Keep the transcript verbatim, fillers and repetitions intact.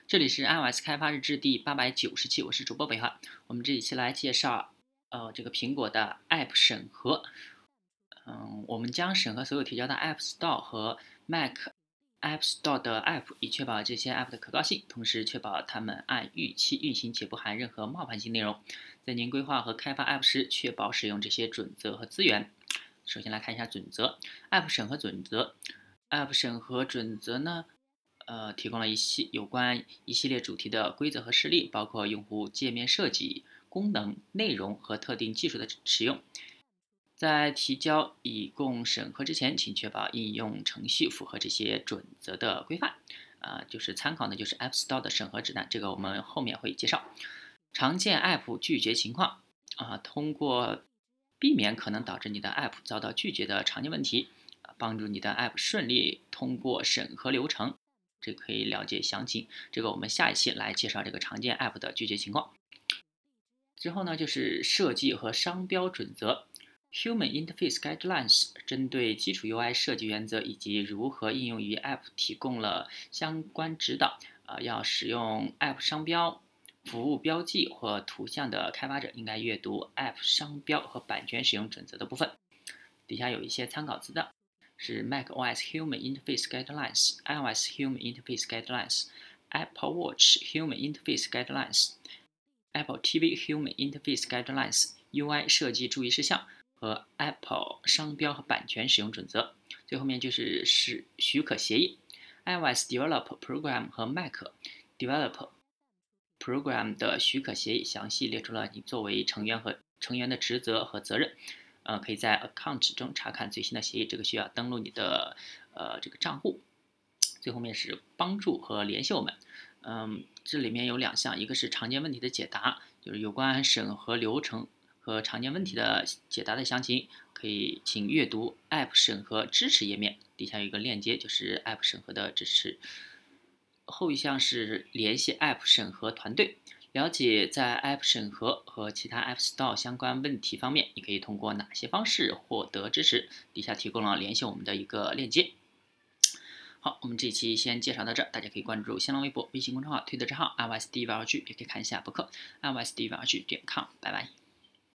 这里是 iOS 开发日志第八百九十期，我是主播北汉。我们这一期来介绍，呃，这个苹果的 App 审核。嗯，我们将审核所有提交的 App Store 和 Mac App Store 的 App，以确保这些 App 的可靠性，同时确保它们按预期运行且不含任何冒犯性内容。在您规划和开发 App 时，确保使用这些准则和资源。首先来看一下准则 ，App 审核准则。App 审核准则呢？呃，提供了一系有关一系列主题的规则和示例，包括用户界面设计、功能、内容和特定技术的使用。在提交以供审核之前，请确保应用程序符合这些准则的规范。啊、呃，就是参考的就是 App Store 的审核指南，这个我们后面会介绍。常见 App 拒绝情况啊、呃，通过避免可能导致你的 App 遭到拒绝的常见问题，帮助你的 App 顺利通过审核流程。这可以了解详情。这个我们下一期来介绍这个常见 App 的拒绝情况。之后呢，就是设计和商标准则 （Human Interface Guidelines） 针对基础 U I 设计原则以及如何应用于 App 提供了相关指导。呃，要使用 App 商标、服务标记或图像的开发者应该阅读 App 商标和版权使用准则的部分。底下有一些参考资料。是 macOS Human Interface Guidelines、iOS Human Interface Guidelines、Apple Watch Human Interface Guidelines、Apple T V Human Interface Guidelines、U I 设计注意事项和 Apple 商标和版权使用准则。最后面就是是许可协议 ，iOS Developer Program 和 Mac Developer Program 的许可协议详细列出了你作为成员和成员的职责和责任。呃，可以在 Account 中查看最新的协议，这个需要登录你的呃这个账户。最后面是帮助和联系我们，嗯，这里面有两项，一个是常见问题的解答，就是有关审核流程和常见问题的解答的详情，可以请阅读 App 审核支持页面，底下有一个链接，就是 App 审核的支持。后一项是联系 App 审核团队。了解在 App 审核和其他 App Store 相关问题方面，你可以通过哪些方式获得支持？底下提供了联系我们的一个链接。好，我们这期先介绍到这儿，大家可以关注新浪微博、微信公众号、推特账号 iOS D V R G， 也可以看一下博客 iOS D V R G 点 com， 拜拜。